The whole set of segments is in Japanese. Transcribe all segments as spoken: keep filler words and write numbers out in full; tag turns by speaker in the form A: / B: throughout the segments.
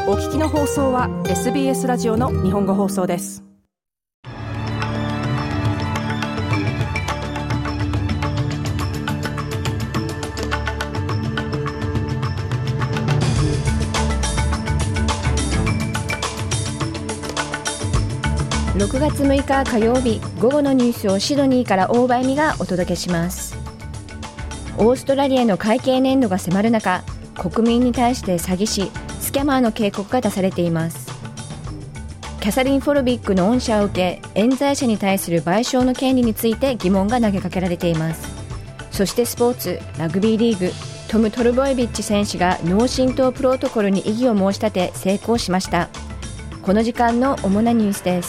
A: お聞きの放送は エスビーエス ラジオの日本語放送です。
B: ろくがつむいか火曜日、午後のニュースをシドニーから大場恵美がお届けします。オーストラリアの会計年度が迫る中、国民に対して詐欺師、スキャマーの警告が出されています。キャサリン・フォルビックの恩赦を受け、冤罪者に対する賠償の権利について疑問が投げかけられています。そしてスポーツ、ラグビーリーグ、トム・トルボエビッチ選手が脳震盪プロトコルに異議を申し立て成功しました。この時間の主なニュースです。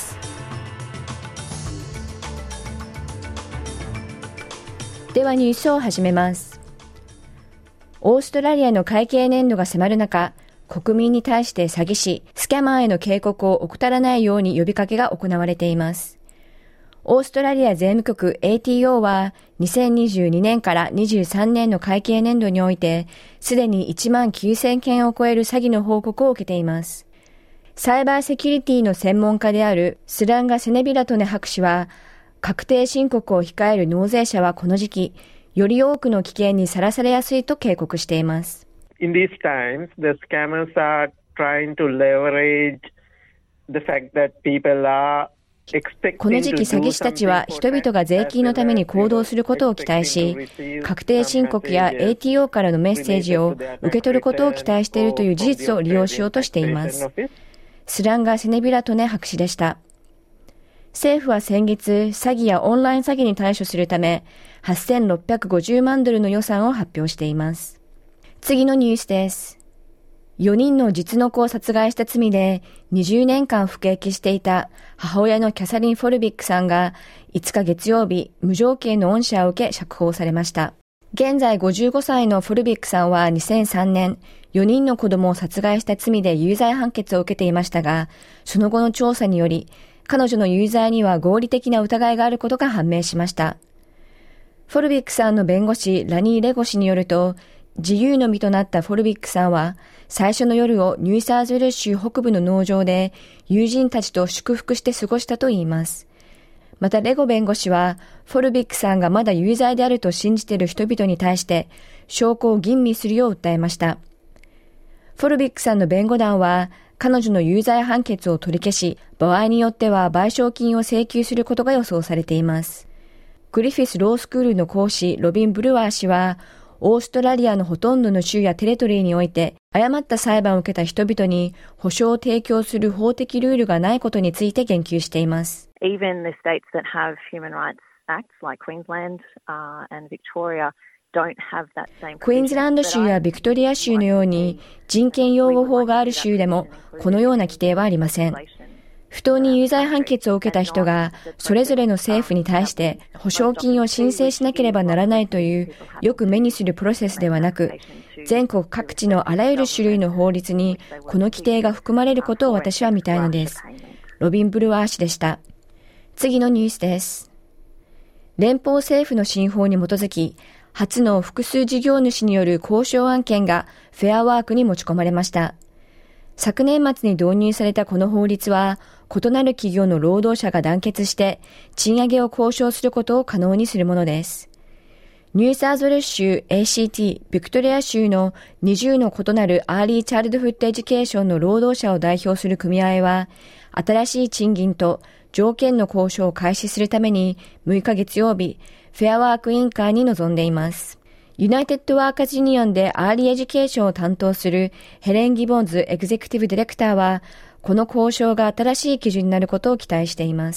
B: ではニュースを始めます。オーストラリアの会計年度が迫る中、国民に対して詐欺師、スキャマーへの警告を怠らないように呼びかけが行われています。オーストラリア税務局 エーティーオー はにせんにじゅうにねんからにじゅうさんねんの会計年度において、すでにいちまんきゅうせんけんを超える詐欺の報告を受けています。サイバーセキュリティの専門家であるスランガ・セネビラトネ博士は、確定申告を控える納税者はこの時期、より多くの危険にさらされやすいと警告しています。
C: In these times, the scammers are trying to leverage the fact that people are expecting to do something.
B: この時期、詐欺師たちは人々が税金のために行動することを期待し、確定申告や エーティーオー からのメッセージを受け取ることを期待しているという事実を利用しようとしています。スランガ・セネビラトネ博士でした。政府は先月、詐欺やオンライン詐欺に対処するため、はっせんろっぴゃくごじゅうまんドルの予算を発表しています。次のニュースです。よにんの実の子を殺害した罪でにじゅうねんかん服役していた母親のキャサリン・フォルビックさんがいつか月曜日、無条件の恩赦を受け釈放されました。現在ごじゅうごさいのフォルビックさんはにせんさんねん、よにんの子供を殺害した罪で有罪判決を受けていましたが、その後の調査により、彼女の有罪には合理的な疑いがあることが判明しました。フォルビックさんの弁護士ラニー・レゴ氏によると、自由の身となったフォルビックさんは、最初の夜をニューサーズウェル州北部の農場で友人たちと祝福して過ごしたといいます。またレゴ弁護士は、フォルビックさんがまだ有罪であると信じている人々に対して、証拠を吟味するよう訴えました。フォルビックさんの弁護団は、彼女の有罪判決を取り消し、場合によっては賠償金を請求することが予想されています。グリフィスロースクールの講師ロビン・ブルワー氏は、オーストラリアのほとんどの州やテレトリーにおいて、誤った裁判を受けた人々に保障を提供する法的ルールがないことについて言及しています。
D: Even the states that have human rights acts like Queensland and Victoria
B: クイーンズランド州やビクトリア州のように人権擁護法がある州でもこのような規定はありません。不当に有罪判決を受けた人がそれぞれの政府に対して保証金を申請しなければならないというよく目にするプロセスではなく、全国各地のあらゆる種類の法律にこの規定が含まれることを私は見たいのです。ロビン・ブルワー氏でした。次のニュースです。連邦政府の新法に基づき、初の複数事業主による交渉案件がフェアワークに持ち込まれました。昨年末に導入されたこの法律は、異なる企業の労働者が団結して賃上げを交渉することを可能にするものです。ニューサーズウェル州 エーシーティー、ビクトリア州のにじゅうの異なるアーリーチャイルドフッドエデュケーションの労働者を代表する組合は、新しい賃金と条件の交渉を開始するためにむいか月曜日、フェアワーク委員会に臨んでいます。ユナイテッドワーカーズユニオンでアーリーエデュケーションを担当するヘレン・ギボンズエグゼクティブディレクターは、この交渉が新しい基準になることを期待しています。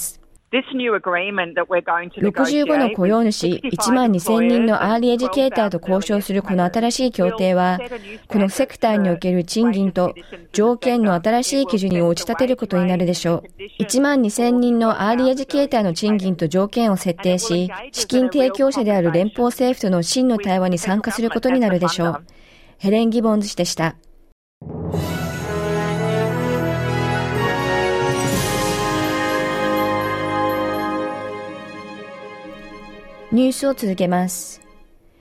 B: ろくじゅうごの雇用主いちまんにせんにんのアーリーエデュケーターと交渉するこの新しい協定は、このセクターにおける賃金と条件の新しい基準に打ち立てることになるでしょう。いちまんにせんにんのアーリーエデュケーターの賃金と条件を設定し、資金提供者である連邦政府との真の対話に参加することになるでしょう。ヘレン・ギボンズ氏でした。ニュースを続けます。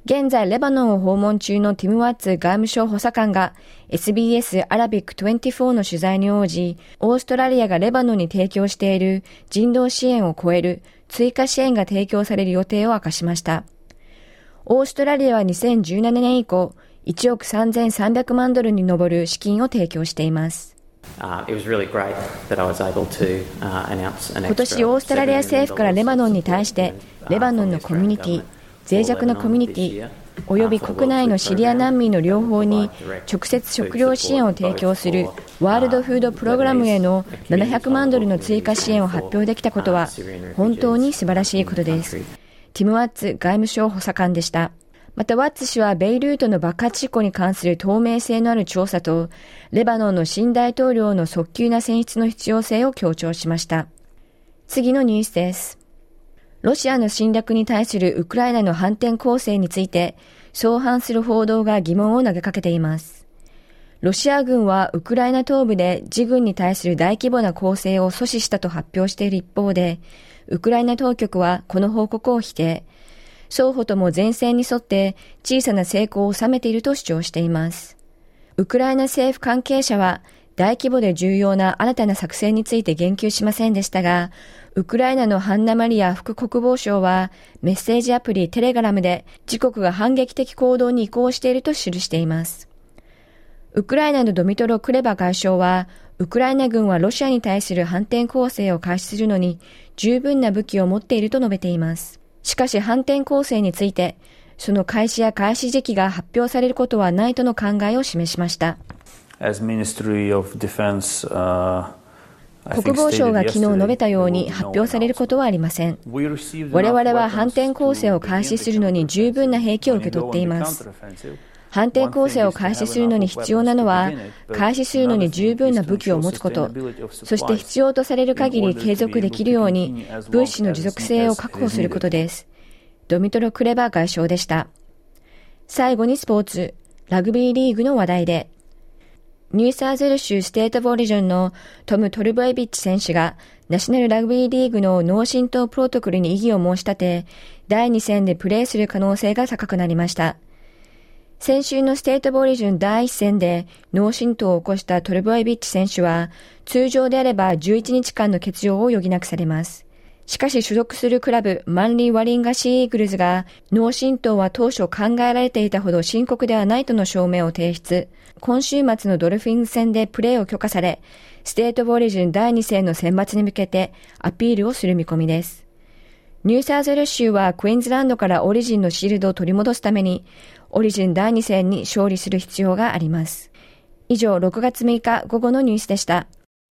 B: 現在レバノンを訪問中のティム・ワッツ外務省補佐官が エスビーエス アラビックにじゅうよんの取材に応じ、オーストラリアがレバノンに提供している人道支援を超える追加支援が提供される予定を明かしました。オーストラリアはにせんじゅうななねん以降、いちおくさんぜんさんびゃくまんドルに上る資金を提供しています。
E: Uh, it was really great that I was able to, uh, announce an extra
B: 今年オーストラリア政府からレバノンに対してレバノンのコミュニティ、脆弱なコミュニティおよび国内のシリア難民の両方に直接食料支援を提供するワールドフードプログラムへのななひゃくまんドルの追加支援を発表できたことは本当に素晴らしいことです。ティム・ワッツ外務省補佐官でした。またワッツ氏はベイルートの爆発事故に関する透明性のある調査とレバノンの新大統領の早急な選出の必要性を強調しました。次のニュースです。ロシアの侵略に対するウクライナの反転攻勢について相反する報道が疑問を投げかけています。ロシア軍はウクライナ東部で自軍に対する大規模な攻勢を阻止したと発表している一方で、ウクライナ当局はこの報告を否定。双方とも前線に沿って小さな成功を収めていると主張しています。ウクライナ政府関係者は大規模で重要な新たな作戦について言及しませんでしたが、ウクライナのハンナ・マリア副国防相はメッセージアプリテレグラムで自国が反撃的行動に移行していると記しています。ウクライナのドミトロ・クレバ外相は、ウクライナ軍はロシアに対する反転攻勢を開始するのに十分な武器を持っていると述べています。しかし反転攻勢について、その開始や開始時期が発表されることはないとの考えを示しました。
F: As Ministry of Defense, uh
B: 国防省が昨日述べたように発表されることはありません。我々は反転攻勢を開始するのに十分な兵器を受け取っています。反転攻勢を開始するのに必要なのは、開始するのに十分な武器を持つこと、そして必要とされる限り継続できるように物資の持続性を確保することです。ドミトロ・クレバ外相でした。最後にスポーツ、ラグビーリーグの話題で、ニューサーズウェル州ステートオリジョンのトム・トルボエビッチ選手がナショナルラグビーリーグの脳震盪プロトコルに異議を申し立て、だいに戦でプレーする可能性が高くなりました。先週のステートオリジョンだいいち戦で脳震盪を起こしたトルボエビッチ選手は、通常であればじゅういちにちかんの欠場を余儀なくされます。しかし所属するクラブマンリー・ワリンガシー・イーグルズが脳震盪は当初考えられていたほど深刻ではないとの証明を提出。今週末のドルフィンズ戦でプレーを許可され、ステートオリジンだいに戦の選抜に向けてアピールをする見込みです。ニューサーズウェル州はクイーンズランドからオリジンのシールドを取り戻すために、オリジンだいに戦に勝利する必要があります。以上、ろくがつむいか午後のニュースでした。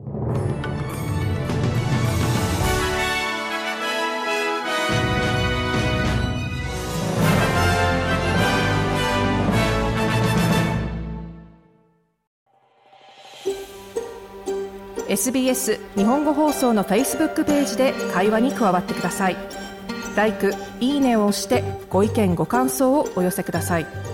A: エスビーエス 日本語放送の Facebook ページで会話に加わってください。ライク、いいねを押してご意見ご感想をお寄せください。